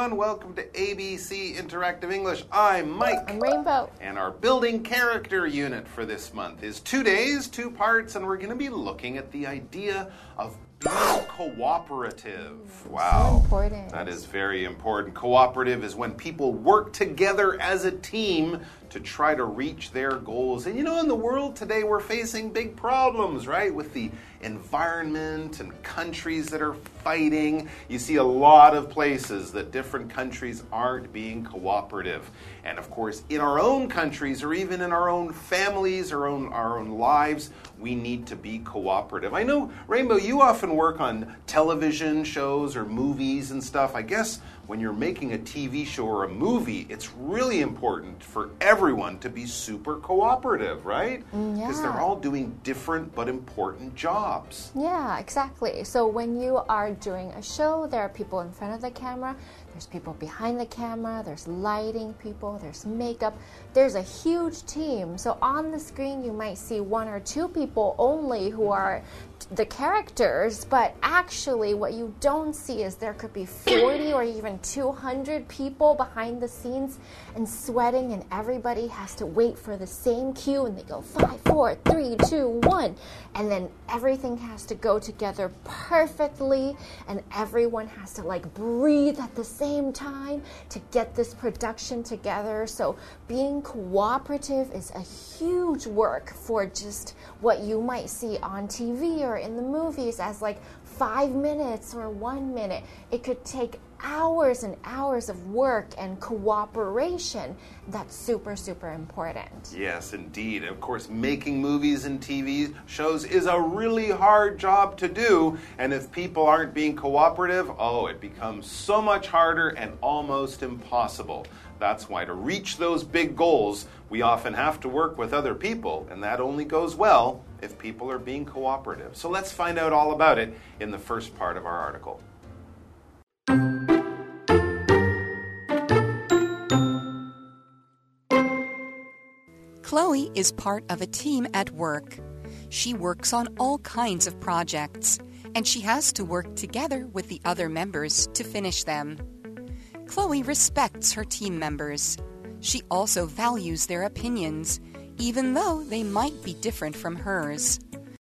everyone. Welcome to ABC Interactive English. I'm Mike. I'm Rainbow. And our building character unit for this month is 2 days, 2 parts, and we're going to be looking at the idea of being cooperative. Wow. So important. That is very important. Cooperative is when people work together as a team to try to reach their goals. And you know, in the world today, we're facing big problems, right? With the environment and countries that are fighting. You see a lot of places that different countries aren't being cooperative. And of course, in our own countries or even in our own families or our own lives, we need to be cooperative. I know, Rainbow, you often work on television shows or movies and stuff. I guess when you're making a TV show or a movie, it's really important for everyone to be super cooperative, right? Because they're all doing different but important jobs. Yeah, exactly. So when you are doing a show, there are people in front of the camera, there's people behind the camera, there's lighting people, there's makeup. There's a huge team. So on the screen, you might see 1 or 2 people only who are the characters, but actually what you don't see is there could be 40 or even 200 people behind the scenes and sweating, and everybody has to wait for the same cue, and they go 5, 4, 3, 2, 1, and then everything has to go together perfectly, and everyone has to like breathe at the same time to get this production together. So being cooperative is a huge work for just what you might see on TV or in the movies as like 5 minutes or 1 minute. It could take hours and hours of work and cooperation. That's super, super important. Yes, indeed. Of course, making movies and TV shows is a really hard job to do. And if people aren't being cooperative, it becomes so much harder and almost impossible. That's why to reach those big goals, we often have to work with other people, and that only goes well if people are being cooperative. So let's find out all about it in the first part of our article. Chloe is part of a team at work. She works on all kinds of projects, and she has to work together with the other members to finish them. Chloe respects her team members. She also values their opinions, even though they might be different from hers.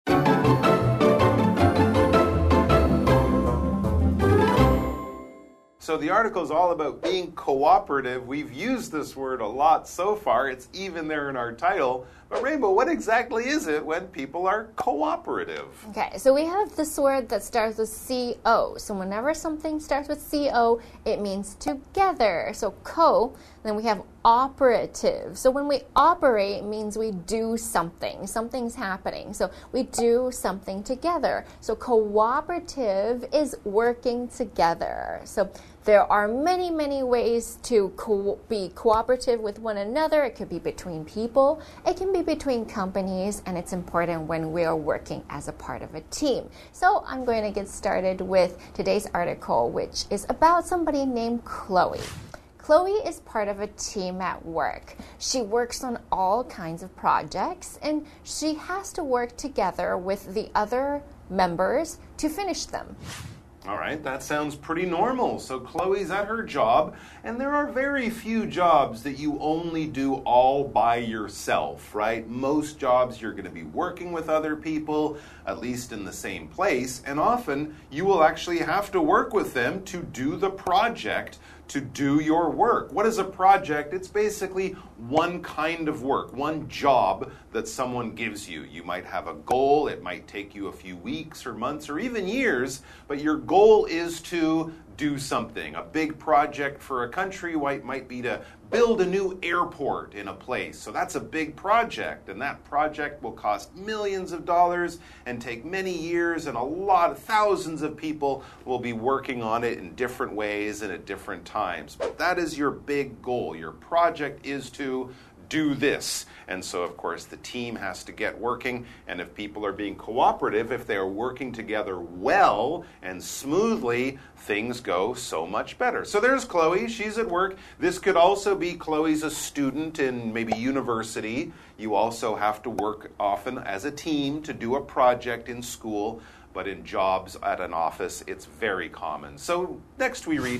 So the article is all about being cooperative. We've used this word a lot so far. It's even there in our title. But Rainbow, what exactly is it when people are cooperative? Okay, so we have this word that starts with C-O. So whenever something starts with C-O, it means together. So co, then we have operative. So when we operate, it means we do something. Something's happening. So we do something together. So cooperative is working together. So there are many, many ways to be cooperative with one another. It could be between people. It can be between companies, and it's important when we are working as a part of a team. So I'm going to get started with today's article, which is about somebody named Chloe. Chloe is part of a team at work. She works on all kinds of projects, and she has to work together with the other members to finish them. All right, that sounds pretty normal. So Chloe's at her job, and there are very few jobs that you only do all by yourself, right? Most jobs you're going to be working with other people, at least in the same place, and often you will actually have to work with them to do the project, to do your work. What is a project? It's basically one kind of work, one job that someone gives you. You might have a goal. It might take you a few weeks or months or even years, but your goal is to do something. A big project for a country might be to build a new airport in a place. So that's a big project, and that project will cost millions of dollars and take many years, and thousands of people will be working on it in different ways and at different times. But that is your big goal. Your project is to do this. And so, of course, the team has to get working, and if people are being cooperative, if they are working together well and smoothly, things go so much better. So there's Chloe. She's at work. This could also be Chloe's a student in maybe university. You also have to work often as a team to do a project in school, but in jobs at an office, it's very common. So next we read,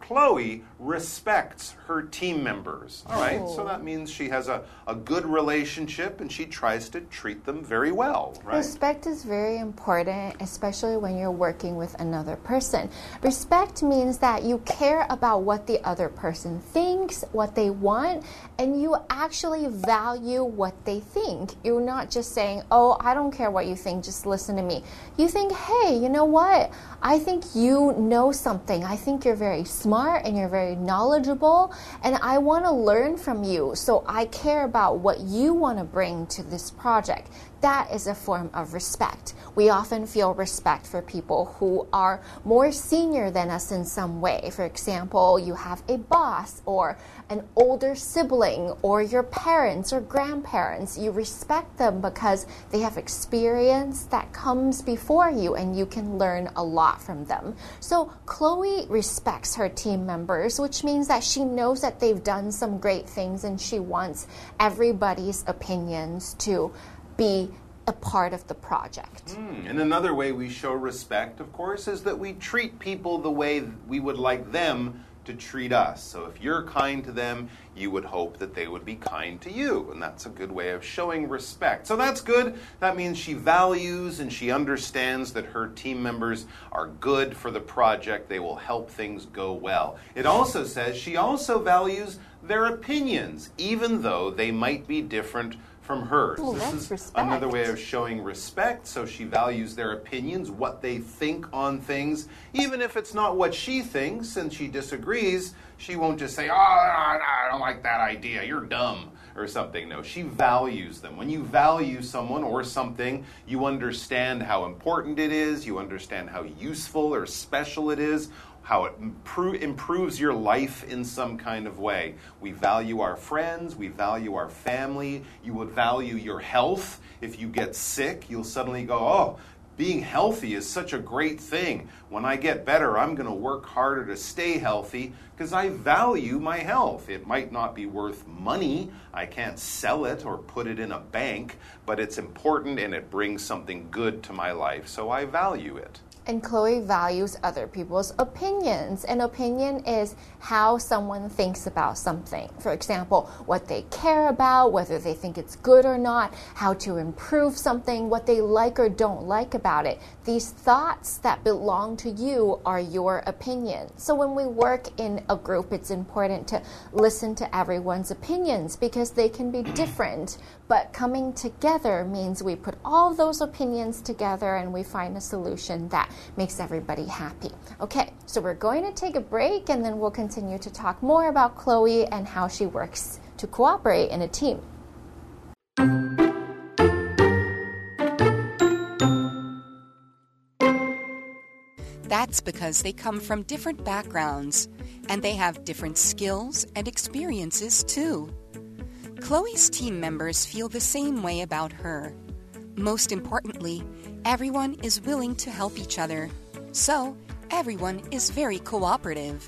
Chloe respects her team members. All right, so that means she has a good relationship and she tries to treat them very well, right? Respect is very important, especially when you're working with another person. Respect means that you care about what the other person thinks, what they want, and you actually value what they think. You're not just saying, oh, I don't care what you think, just listen to me. You think, hey, you know what? I think you know something. I think you're very smart and you're very knowledgeable, and I want to learn from you, so I care about what you want to bring to this project. That is a form of respect. We often feel respect for people who are more senior than us in some way. For example, you have a boss or an older sibling or your parents or grandparents. You respect them because they have experience that comes before you and you can learn a lot from them. So Chloe respects her team members, which means that she knows that they've done some great things and she wants everybody's opinions to be a part of the project. And another way we show respect, of course, is that we treat people the way we would like them to treat us. So if you're kind to them, you would hope that they would be kind to you. And that's a good way of showing respect. So that's good. That means she values and she understands that her team members are good for the project. They will help things go well. It also says she also values their opinions, even though they might be different from hers. Ooh, this is respect. Another way of showing respect. So she values their opinions, what they think on things. Even if it's not what she thinks and she disagrees, she won't just say, oh, I don't like that idea, you're dumb, or something. No, she values them. When you value someone or something, you understand how important it is, you understand how useful or special it is, how it improves your life in some kind of way. We value our friends, we value our family. You would value your health. If you get sick, you'll suddenly go, oh, being healthy is such a great thing. When I get better, I'm going to work harder to stay healthy because I value my health. It might not be worth money. I can't sell it or put it in a bank, but it's important and it brings something good to my life, so I value it. And Chloe values other people's opinions. An opinion is how someone thinks about something. For example, what they care about, whether they think it's good or not, how to improve something, what they like or don't like about it. These thoughts that belong to you are your opinion. So when we work in a group, it's important to listen to everyone's opinions because they can be different. But coming together means we put all those opinions together and we find a solution that makes everybody happy. Okay, so we're going to take a break and then we'll continue to talk more about Chloe and how she works to cooperate in a team. That's because they come from different backgrounds and they have different skills and experiences too. Chloe's team members feel the same way about her. Most importantly, everyone is willing to help each other. So, everyone is very cooperative.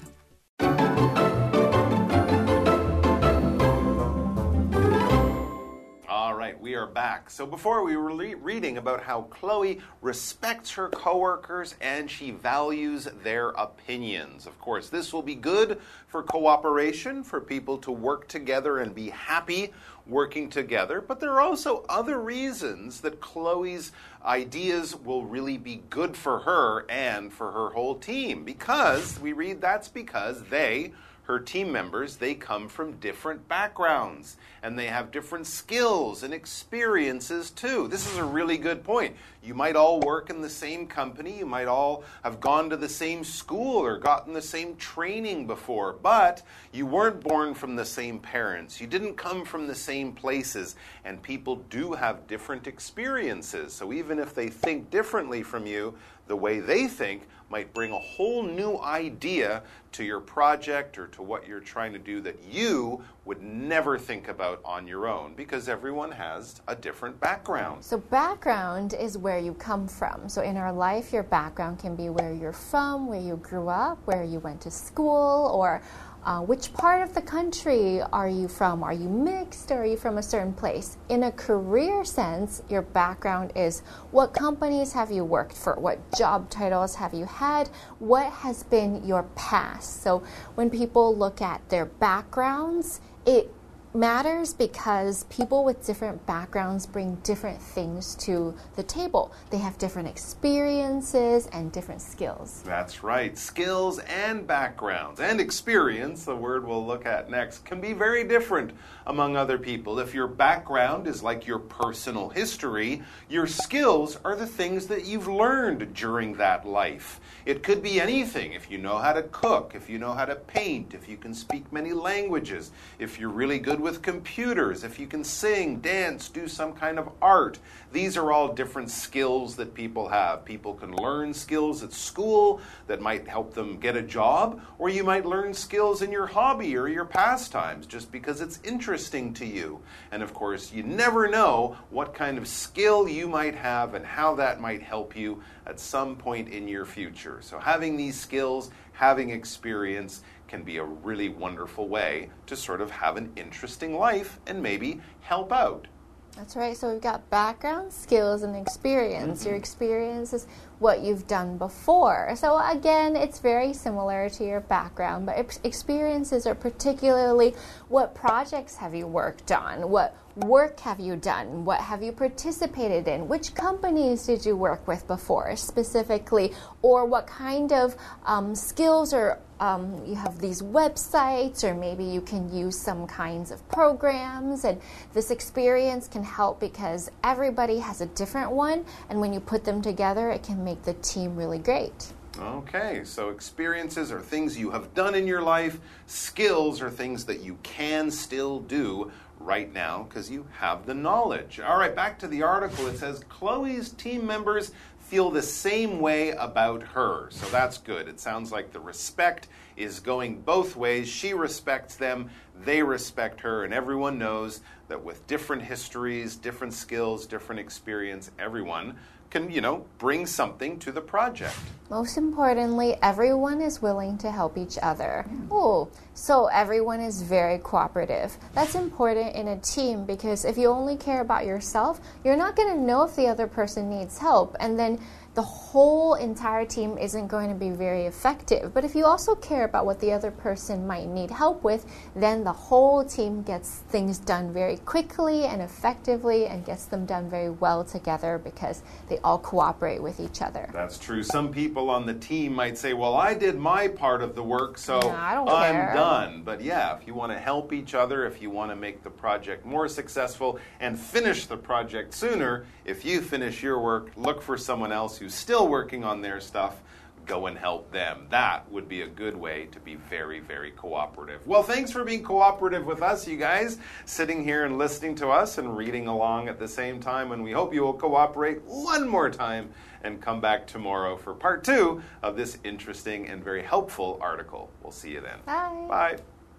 We are back. So before we were reading about how Chloe respects her coworkers and she values their opinions. Of course, this will be good for cooperation, for people to work together and be happy working together. But there are also other reasons that Chloe's ideas will really be good for her and for her whole team. Because we read that's because her team members, they come from different backgrounds and they have different skills and experiences too. This is a really good point. You might all work in the same company, you might all have gone to the same school or gotten the same training before, but you weren't born from the same parents. You didn't come from the same places, and people do have different experiences. So even if they think differently from you, the way they think might bring a whole new idea to your project or to what you're trying to do that you would never think about on your own, because everyone has a different background. So background is where you come from. So in our life, your background can be where you're from, where you grew up, where you went to school, or Which part of the country are you from? Are you mixed or are you from a certain place? In a career sense, your background is what companies have you worked for? What job titles have you had? What has been your past? So when people look at their backgrounds, it matters because people with different backgrounds bring different things to the table. They have different experiences and different skills. That's right. Skills and backgrounds and experience, the word we'll look at next, can be very different among other people. If your background is like your personal history, your skills are the things that you've learned during that life. It could be anything. If you know how to cook, if you know how to paint, if you can speak many languages, if you're really good with computers, if you can sing, dance, do some kind of art. These are all different skills that people have. People can learn skills at school that might help them get a job, or you might learn skills in your hobby or your pastimes just because it's interesting to you. And of course, you never know what kind of skill you might have and how that might help you at some point in your future. So having these skills, having experience can be a really wonderful way to sort of have an interesting life and maybe help out. That's right. So we've got background, skills, and experience. Your experience is what you've done before. So again, it's very similar to your background, but experiences are particularly what projects have you worked on? What work have you done? What have you participated in? Which companies did you work with before specifically? Or what kind of skills or you have these websites, or maybe you can use some kinds of programs, and this experience can help because everybody has a different one, and when you put them together, it can make the team really great. Okay, so experiences are things you have done in your life. Skills are things that you can still do right now because you have the knowledge. All right, back to the article. It says Chloe's team members feel the same way about her. So that's good. It sounds like the respect is going both ways. She respects them, they respect her, and everyone knows that with different histories, different skills, different experience, everyone can, bring something to the project. Most importantly, everyone is willing to help each other. Oh, so everyone is very cooperative. That's important in a team because if you only care about yourself, you're not going to know if the other person needs help, and then the whole entire team isn't going to be very effective. But if you also care about what the other person might need help with, then the whole team gets things done very quickly and effectively and gets them done very well together because they all cooperate with each other. That's true. Some people on the team might say, well, I did my part of the work, so I'm done. But yeah, if you want to help each other, if you want to make the project more successful and finish the project sooner, if you finish your work, look for someone else who's still working on their stuff, go and help them. That would be a good way to be very, very cooperative. Well, thanks for being cooperative with us, you guys, sitting here and listening to us and reading along at the same time. And we hope you will cooperate one more time and come back tomorrow for part 2 of this interesting and very helpful article. We'll see you then. Bye. Bye.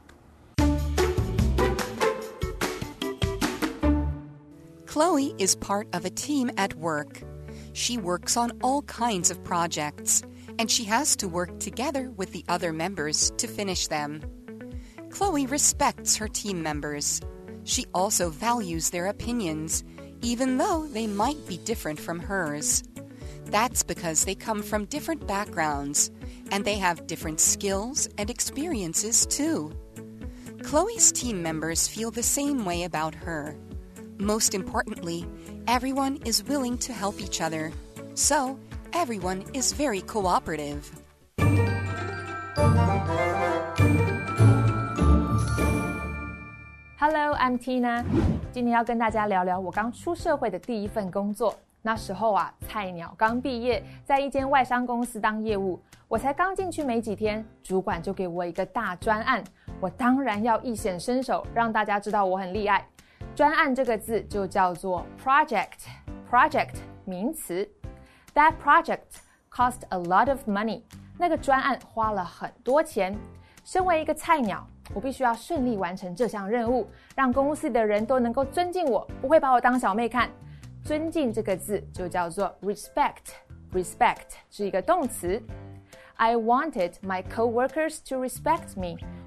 Chloe is part of a team at work. She works on all kinds of projects, and she has to work together with the other members to finish them. Chloe respects her team members. She also values their opinions, even though they might be different from hers. That's because they come from different backgrounds, and they have different skills and experiences too. Chloe's team members feel the same way about her. Most importantly, everyone is willing to help each other. So, everyone is very cooperative. Hello, I'm Tina. 今天要跟大家聊聊我刚出社会的第一份工作。那时候啊，菜鳥剛畢業，在一間外商公司當業務。我才剛進去沒幾天，主管就給我一個大專案。我當然要一顯身手，讓大家知道我很厲害。專案這個字就叫做 project 名詞。That project cost a lot of money. 那個專案花了很多錢。身為一個菜鳥，我必須要順利完成這項任務，讓公司的人都能夠尊敬我，不會把我當小妹看。尊敬這個字就叫做 respect 是一個動詞。I wanted my coworkers to respect me.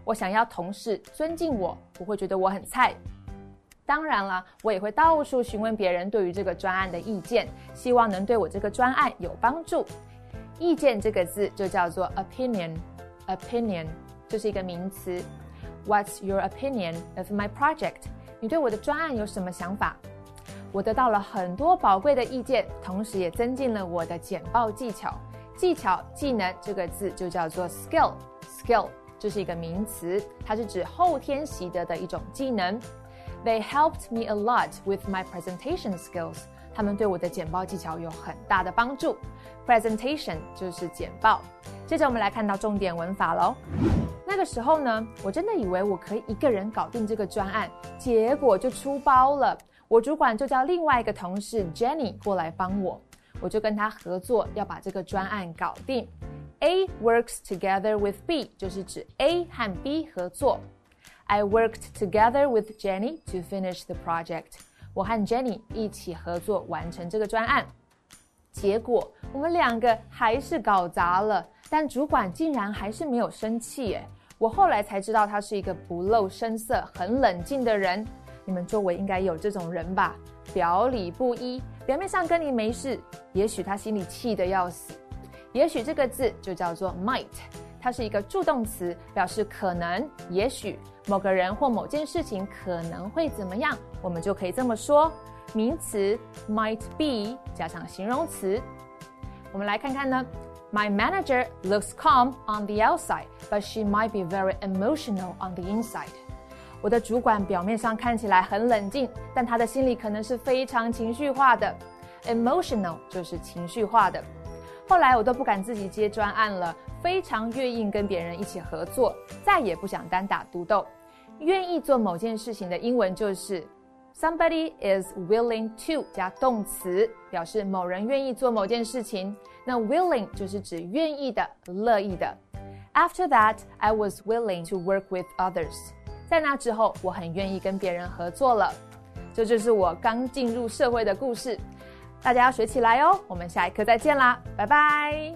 我想要同事尊敬我，不會覺得我很菜。當然了，我也會到處詢問別人對於這個專案的意見，希望能對我這個專案有幫助。意見這個字就叫做 opinion，opinion 就是一個名詞。What's your opinion of my project？ 你對我的專案有什麼想法？我得到了很多寶貴的意見，同時也增進了我的簡報技巧。技巧、技能這個字就叫做 skill，skill 這是一個名詞，它是指後天習得的一種技能。They helped me a lot with my presentation skills。他們對我的簡報技巧有很大的幫助。Presentation 就是簡報。接着我們來看到重點文法咯。那個時候呢，我真的以為我可以一個人搞定這個專案，結果就出包了。我主管就叫另外一個同事 Jenny 過來幫我，我就跟他合作，要把這個專案搞定。A works together with B 就是指 A 和 B 合作。I worked together with Jenny to finish the project。我和 Jenny 一起合作完成這個專案。結果我們兩個還是搞砸了，但主管竟然還是沒有生氣耶。我後來才知道他是一個不露聲色、很冷靜的人。你們周圍應該有這種人吧？表裡不一，表面上跟你沒事，也許他心裡氣得要死。也許這個字就叫做 might， 它是一個助動詞，表示可能、也許某個人或某件事情可能會怎麼樣，我們就可以這麼說。名詞 might be 加上形容詞。我們來看看呢。My manager looks calm on the outside, but she might be very emotional on the inside. 我的主管表面上看起來很冷靜，但他的心裡可能是非常情緒化的。Emotional 就是情緒化的。後來我都不敢自己接專案了，非常願意跟別人一起合作，再也不想單打獨鬥。願意做某件事情的英文就是 Somebody is willing to 加動詞，表示某人願意做某件事情。那 willing 就是指願意的、樂意的。After that, I was willing to work with others. 在那之後，我很願意跟別人合作了。這就是我剛進入社會的故事。大家要學起來哦！我們下一課再見啦，拜拜。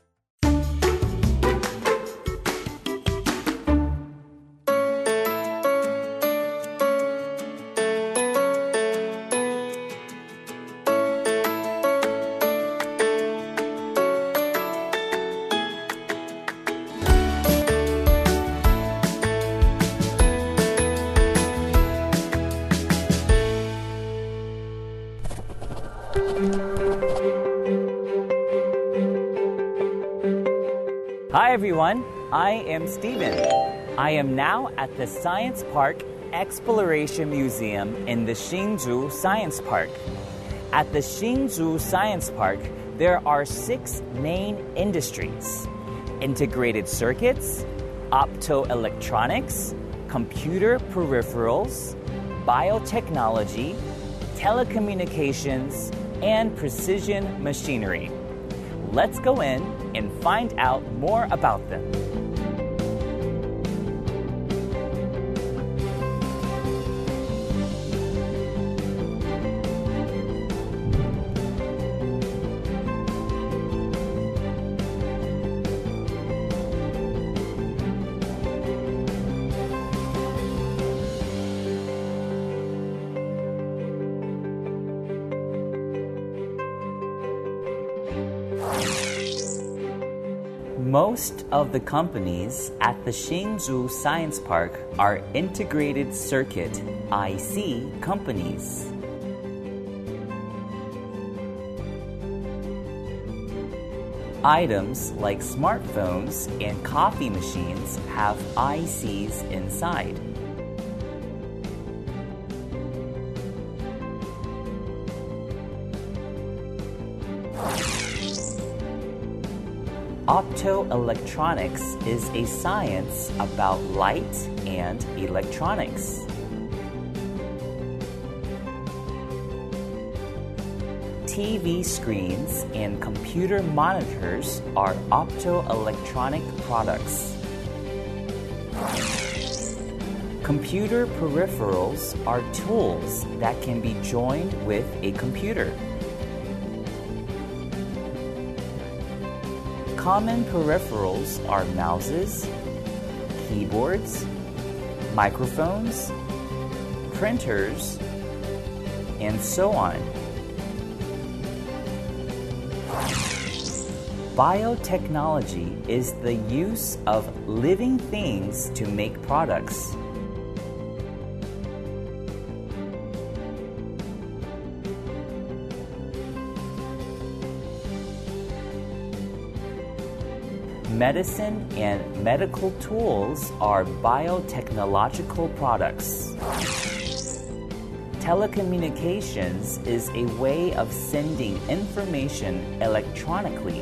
Hi everyone, I am Steven. I am now at the Science Park Exploration Museum in the Hsinchu Science Park. At the Hsinchu Science Park, there are 6 main industries: integrated circuits, optoelectronics, computer peripherals, biotechnology, telecommunications, and precision machinery. Let's go in and find out more about them. Most of the companies at the Hsinchu Science Park are integrated circuit IC companies. Items like smartphones and coffee machines have ICs inside. Optoelectronics is a science about light and electronics. TV screens and computer monitors are optoelectronic products. Computer peripherals are tools that can be joined with a computer. Common peripherals are mouses, keyboards, microphones, printers, and so on. Biotechnology is the use of living things to make products. Medicine and medical tools are biotechnological products. Telecommunications is a way of sending information electronically.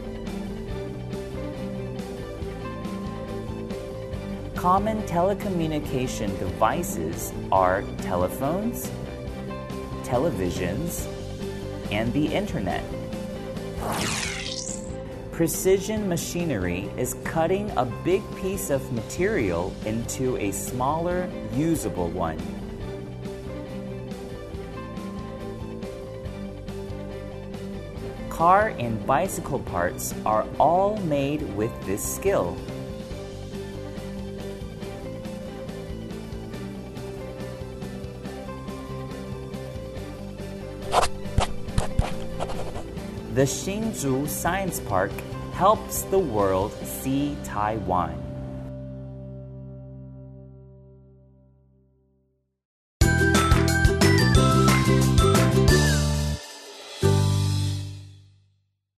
Common telecommunication devices are telephones, televisions, and the internet. Precision machinery is cutting a big piece of material into a smaller, usable one. Car and bicycle parts are all made with this skill. The Hsinchu Science Park helps the world see Taiwan.